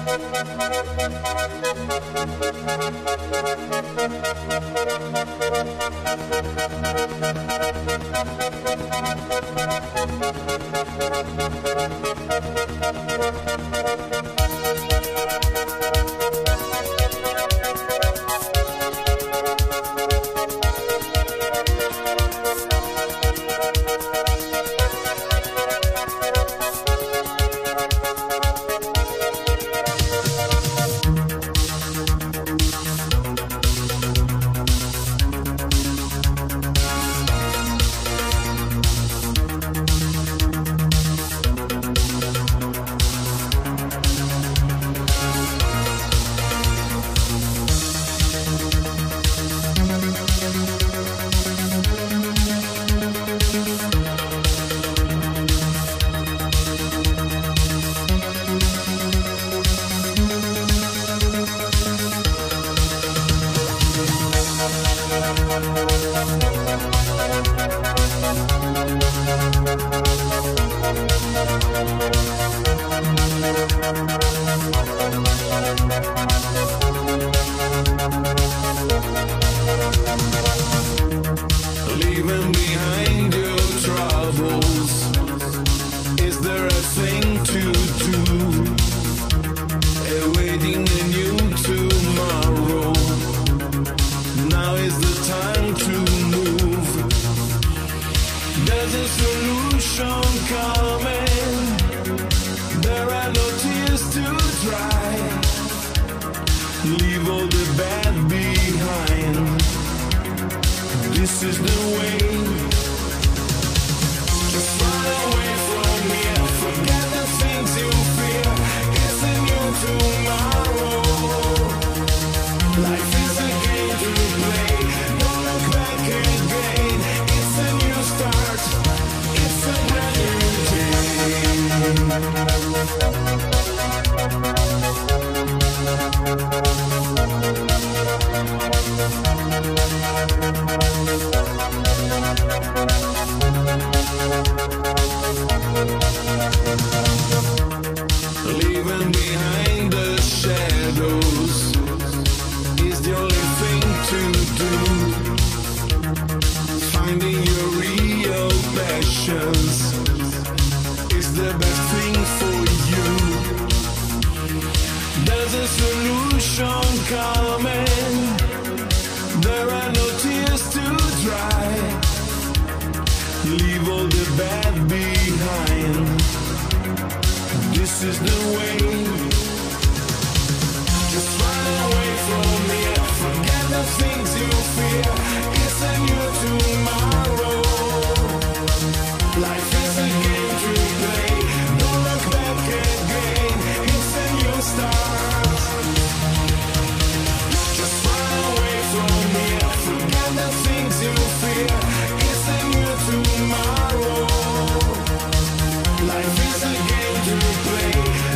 Leaving behind your troubles, is there a thing to do? Awaiting a new tomorrow, now is the time to move. There's a solution coming, there are no tears to dry. Leave all the bad behind, this is the way. Just run away from here, forget the things you fear. It's a new tomorrow, life is a game to play. Don't look back again, it's a new start, it's a brand new day. Leaving behind the shadows is the only thing to do. Finding your real passions is the best thing for you. There's a solution coming, there are no tears to dry. Leave all the bad behind, this is the way. Just run away from here, forget the things you fear. It's a new tomorrow, life is a game to play. Don't look back again, it's a new start. Just run away from here, forget the things you fear. It's a new tomorrow, life is a game to play.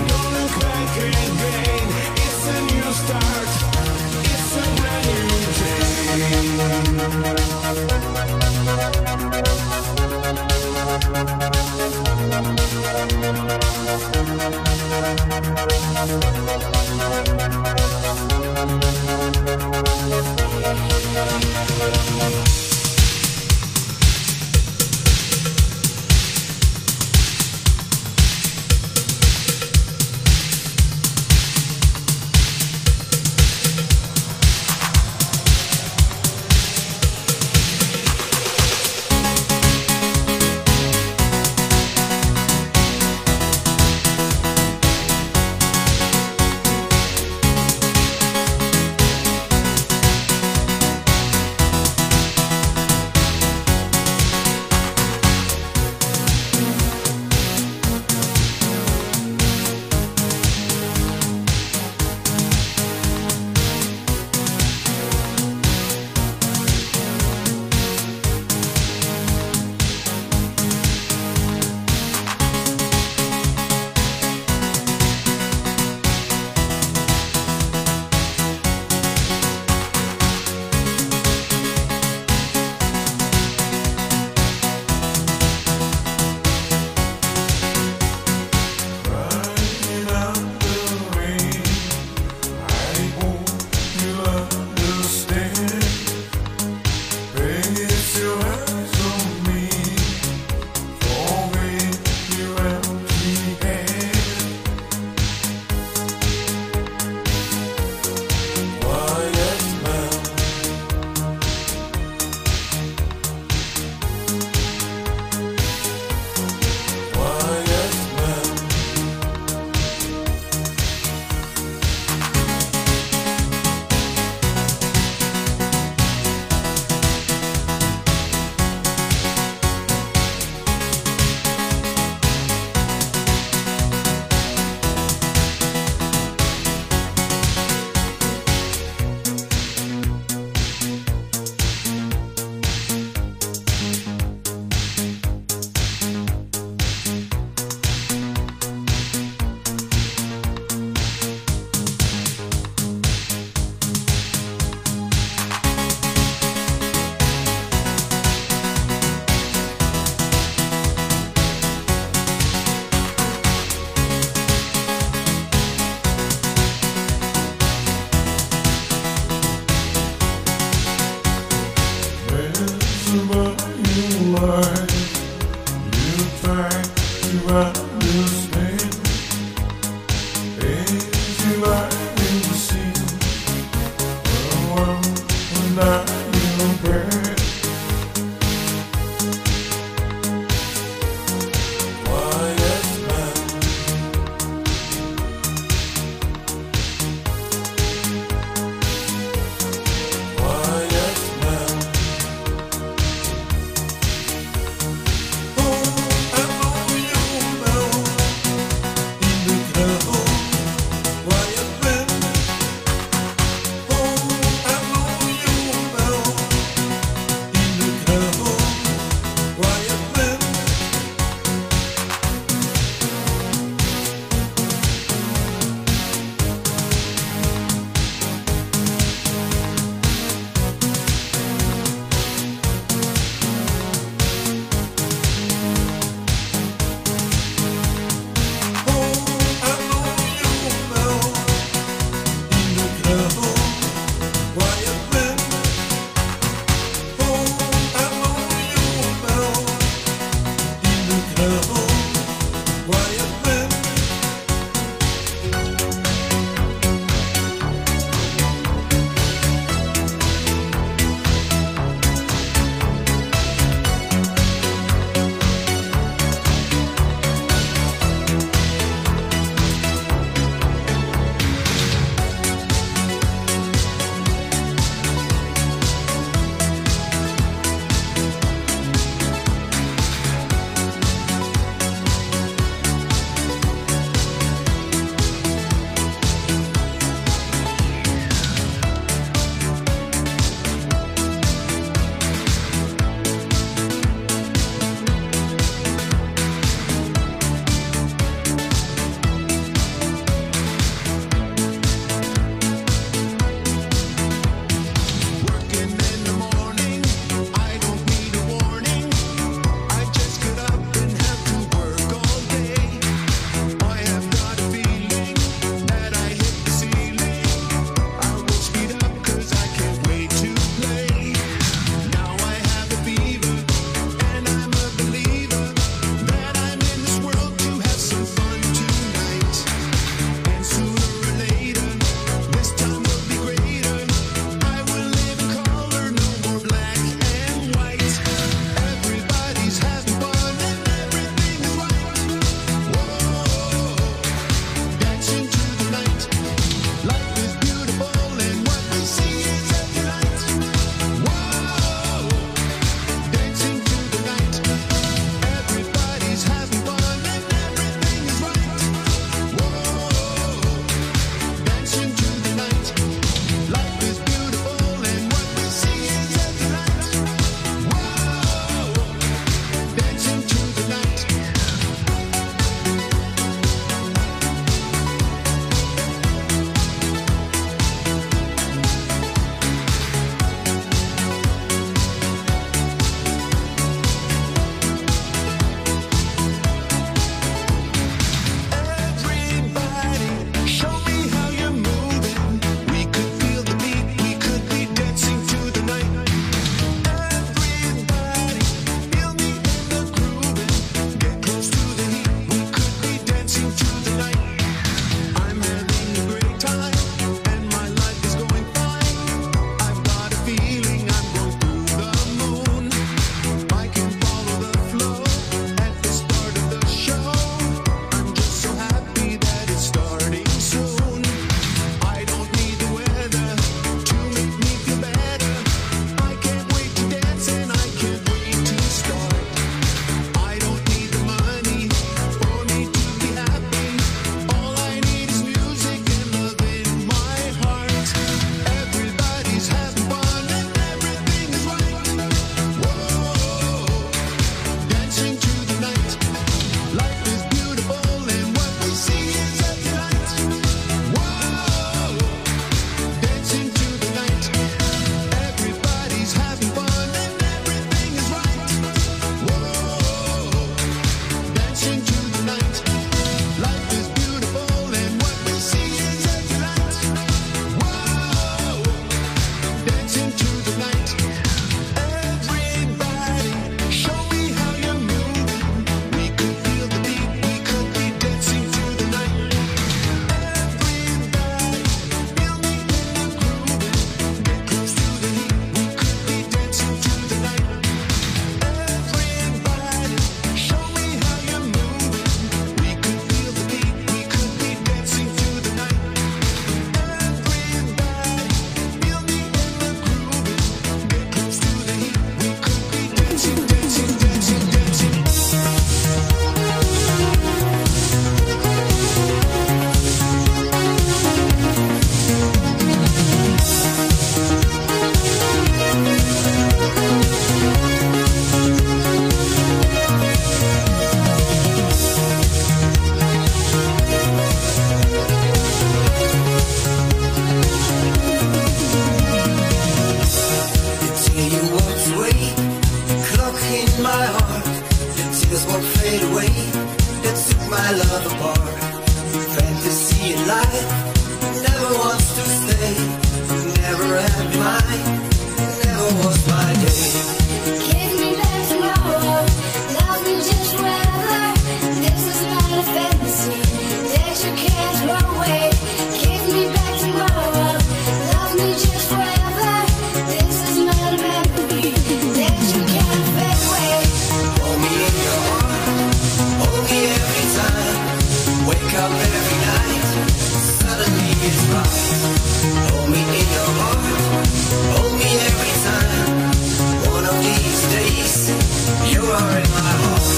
my love apart. Fantasy and life never wants to stay. Never had mine, never was my day. Give me back tomorrow, love me just forever. This is not a fantasy that you can't throw away. Give me back tomorrow, love me just forever. This is not a memory that you can't fade away. Hold me in your heart, hold me every time. Wake up every night, suddenly it's right. Hold me in your heart, hold me every time. One of these days, you are in my heart.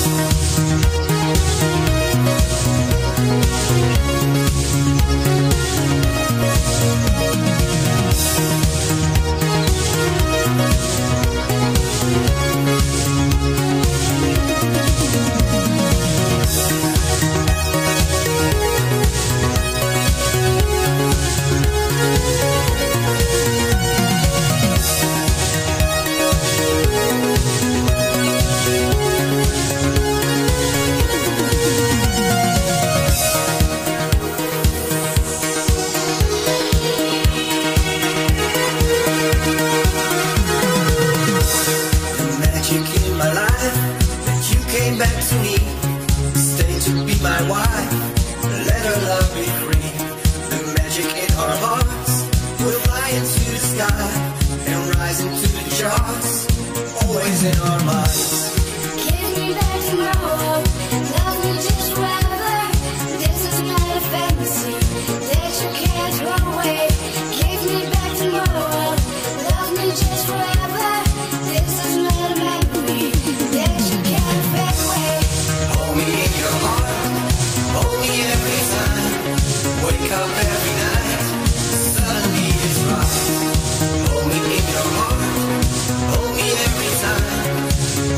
Back to me, stay to be my wife, let our love be free. The magic in our hearts will fly into the sky and rise into the charts, always in our minds. Give me back tomorrow, love me just forever. This is not a fantasy that you can't throw away. Give me back tomorrow, love me just forever. This is not a memory that you can't fade away. Hold me in your heart, hold me every time. Wake up every night, suddenly it's right. Hold me in your heart, hold me every time.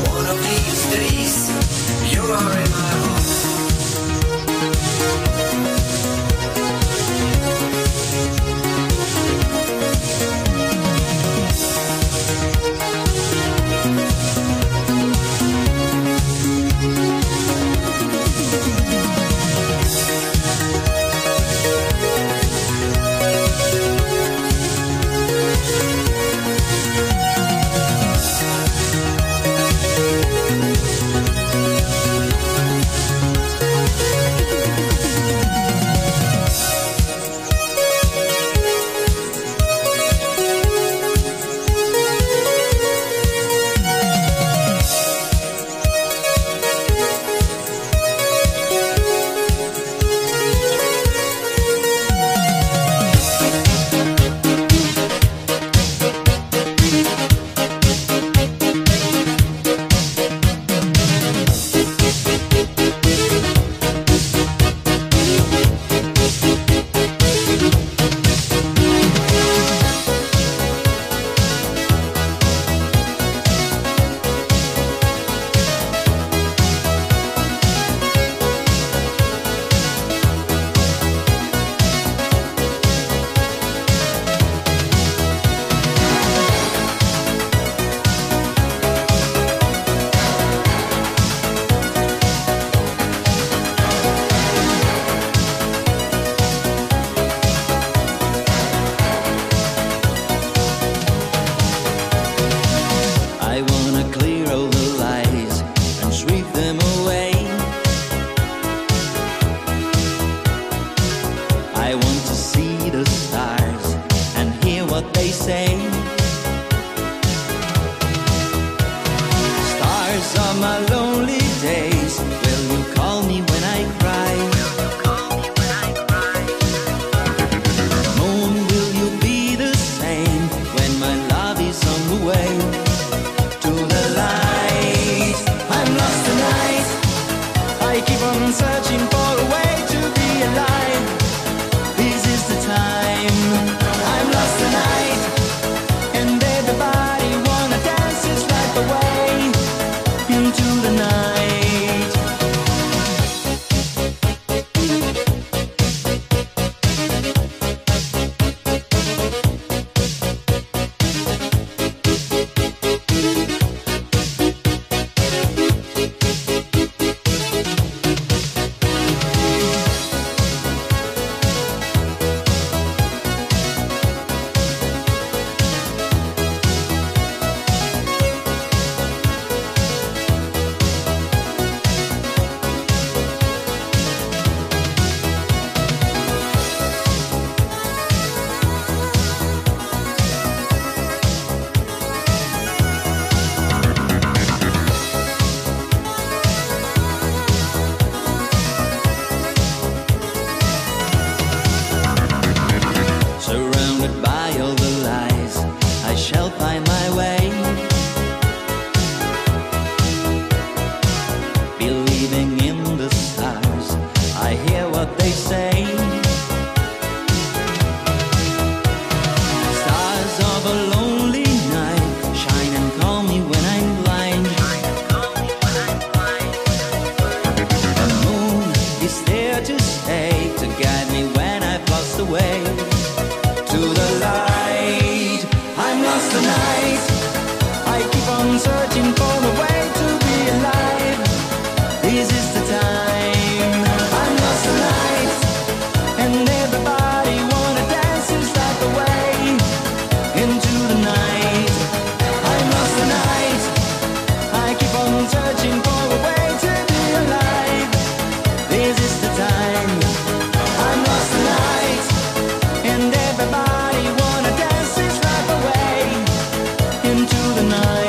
is there to stay, to guide me when I've lost the way. To the light, I'm lost tonight. I keep on searching for a way to be alive. This is the time. I'm lost tonight, and everybody wanna dance and slide away into the night. I'm lost tonight. I keep on searching for a way to be alive. This is the time. I'm lost tonight, and everybody wanna dance and slide away into the night.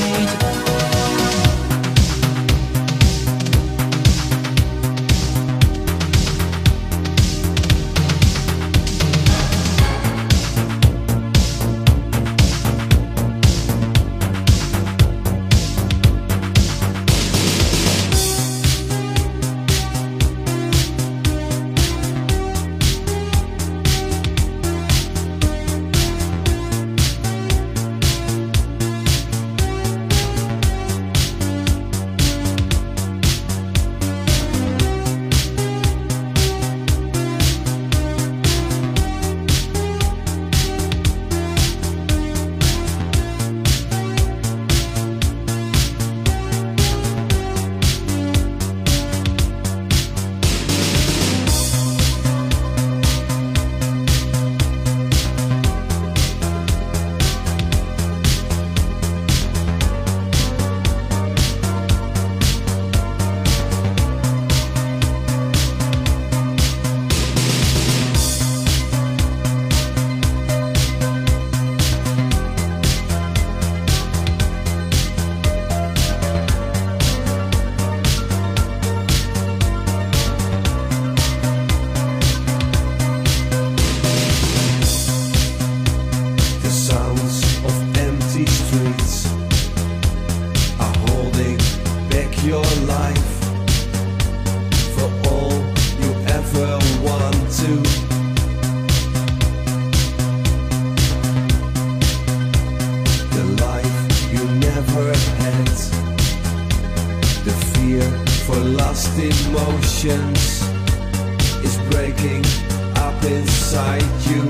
Emotions is breaking up inside you.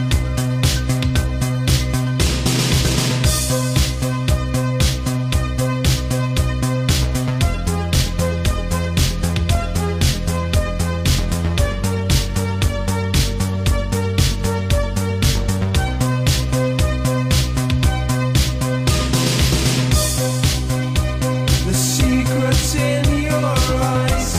The secrets in your eyes.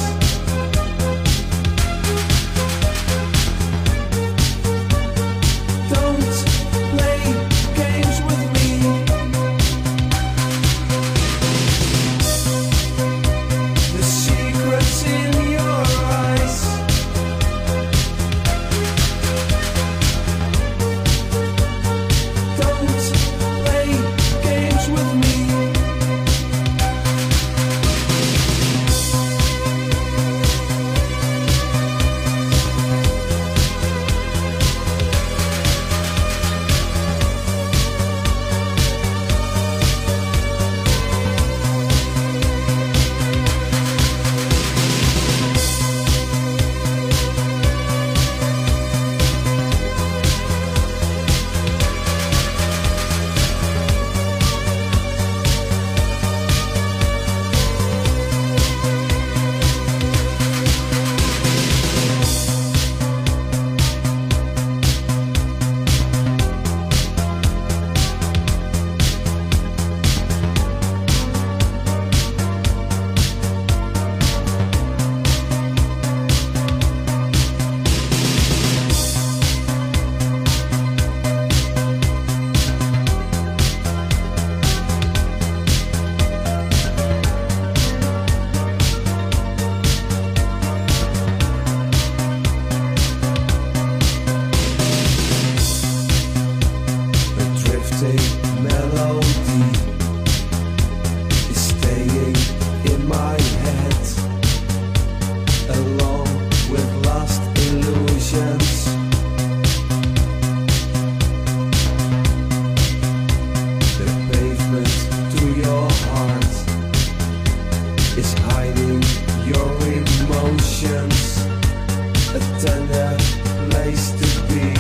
a tender place to be.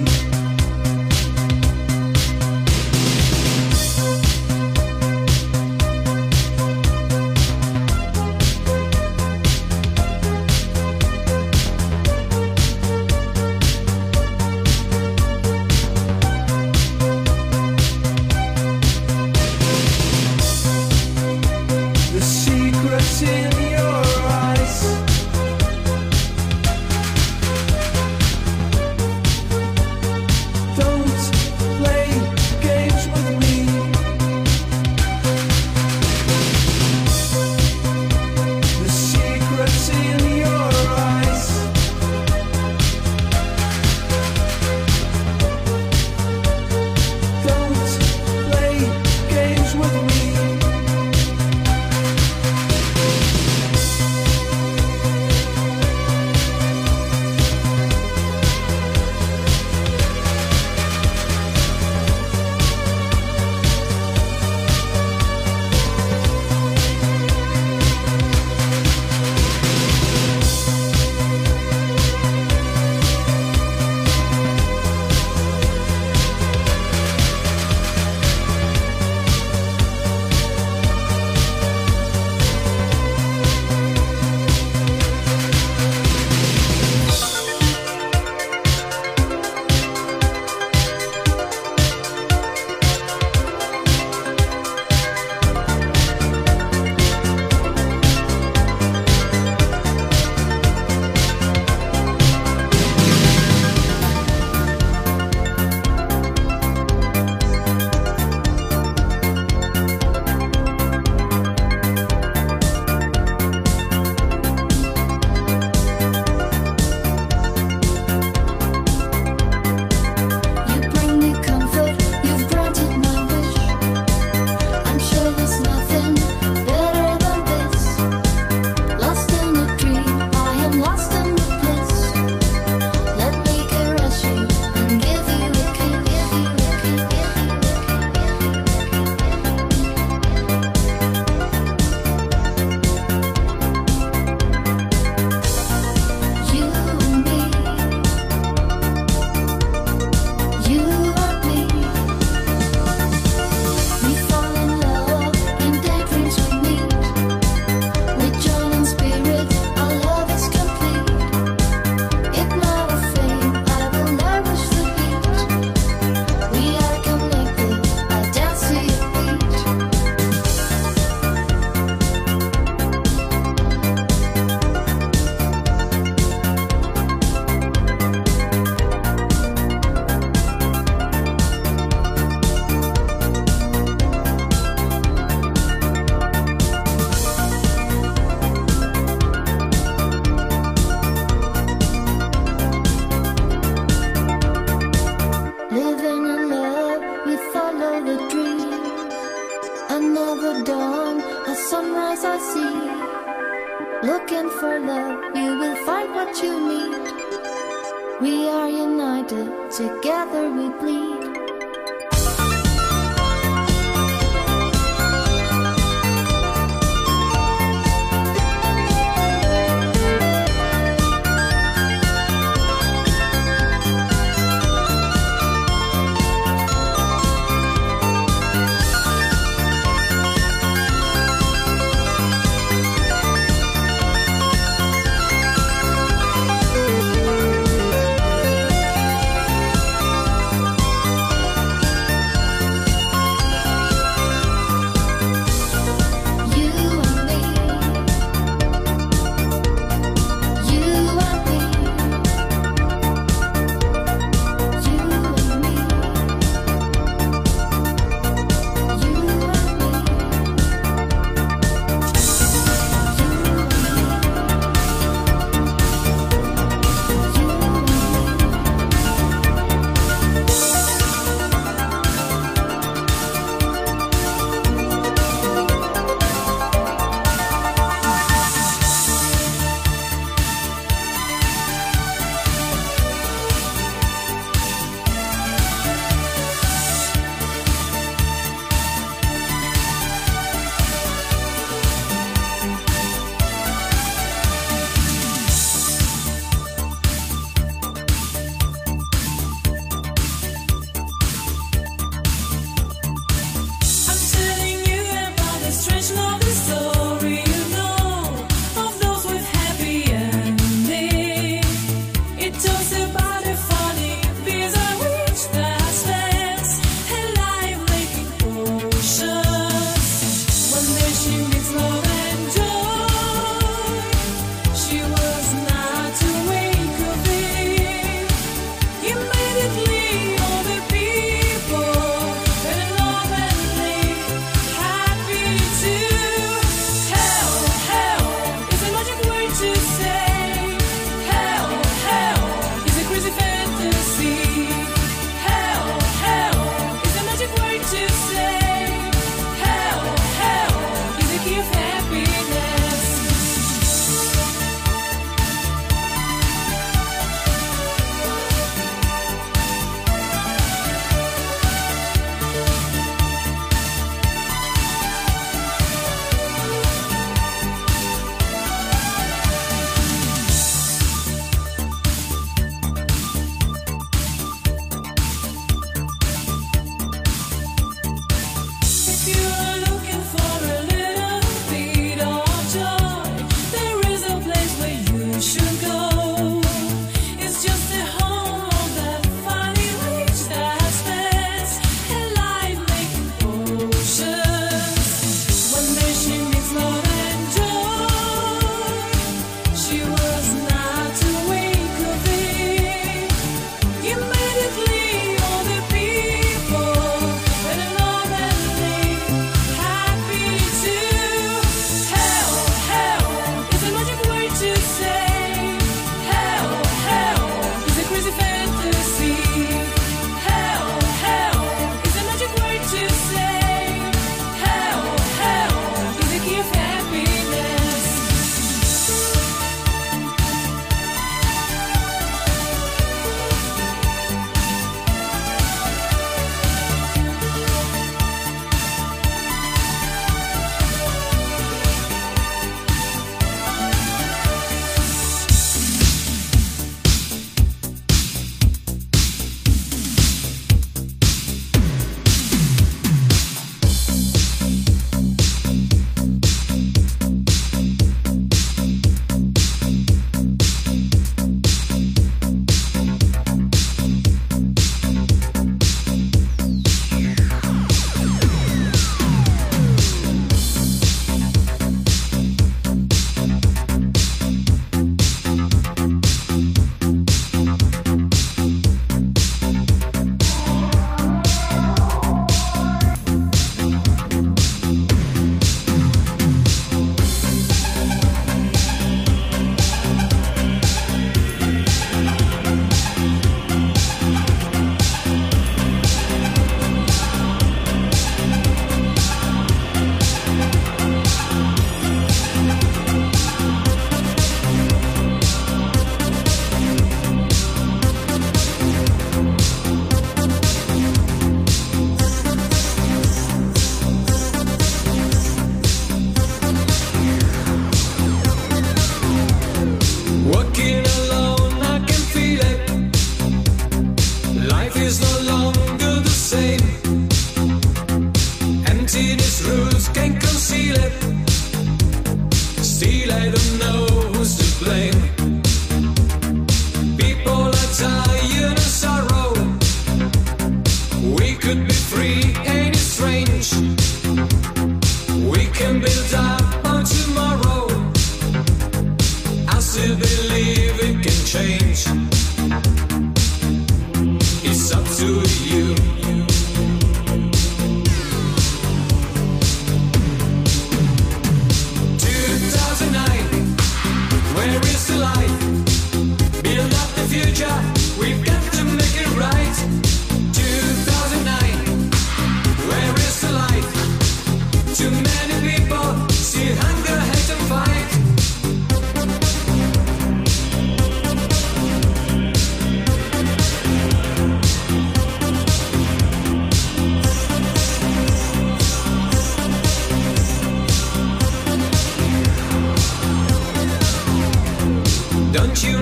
The secrets in your eyes, don't play games with me. The secrets in your eyes, don't play games with me. You bring me comfort, you've granted my wish. I'm sure there's nothing better than this. Lost in a dream, I am lost in the bliss. Let me caress you and give you a kiss. You and me, you and me. We fall in love, in daydreams we meet. With joy and spirit, our love is complete. If not a fame, I will nourish the beat. We are connected, I dance to your beat. Living in love, we follow the dream. Another dawn, a sunrise I see. Looking for love, you will find what you need. We are united, together we bleed.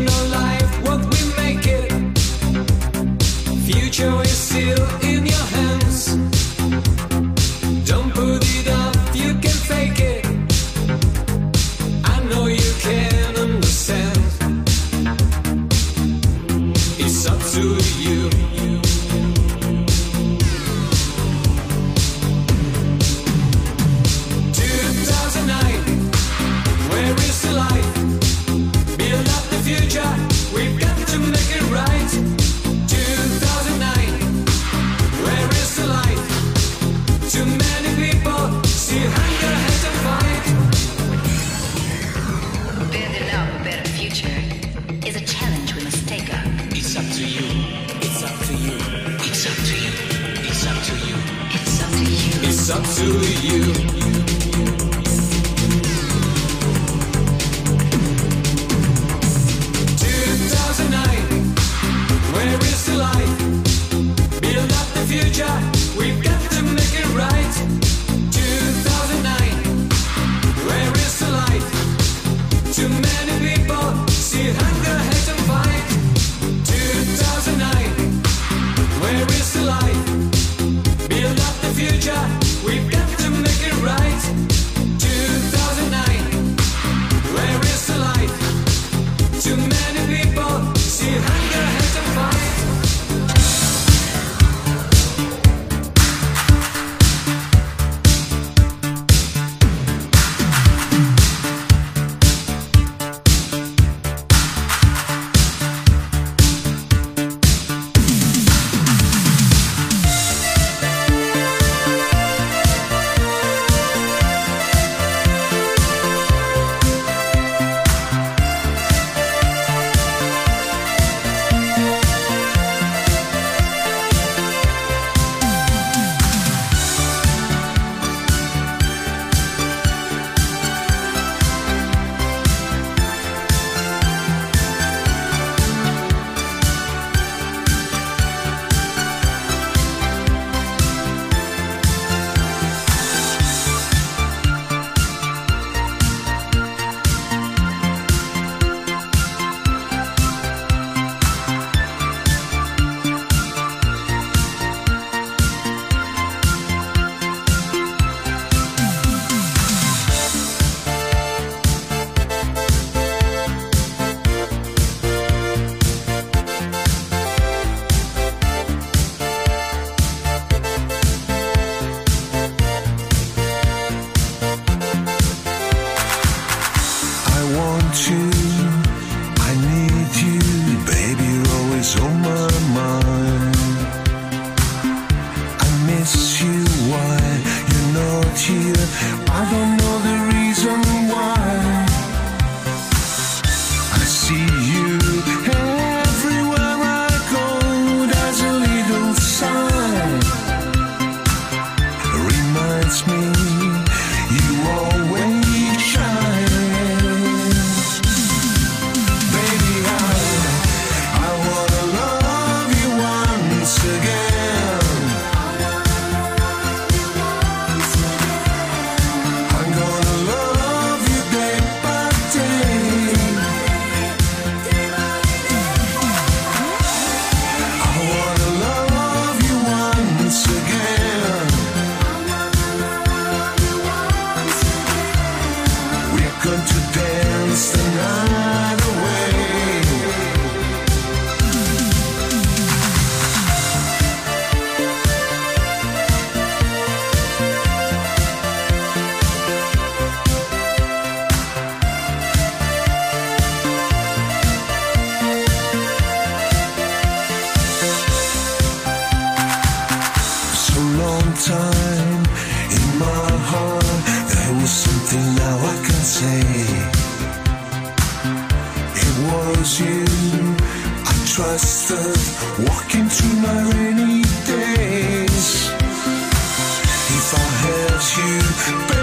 your life, what we make it. Future is still in your hands. Don't put it up, you can fake it. I know you can understand. It's up to you. 2009, where is the light? Build up the future, we've got to make it right. 2009, where is the light? Too many people see hunger has to fight. Building up a better future is a challenge we must take up. It's up to you. It's up to you. It's up to you. It's up to you. It's up to you. It's up to you. 2009, where is the light? Build up the future, we've got to make it right. 2009, where is the light? Too many people see hunger, hate and fight. 2009, where is the light? Build up the future, we've got to make it right. 2009, where is the light? Too many people see hunger, hate and fight. time in my heart there was something now I can say. It was you I trusted, walking through my rainy days. If I had you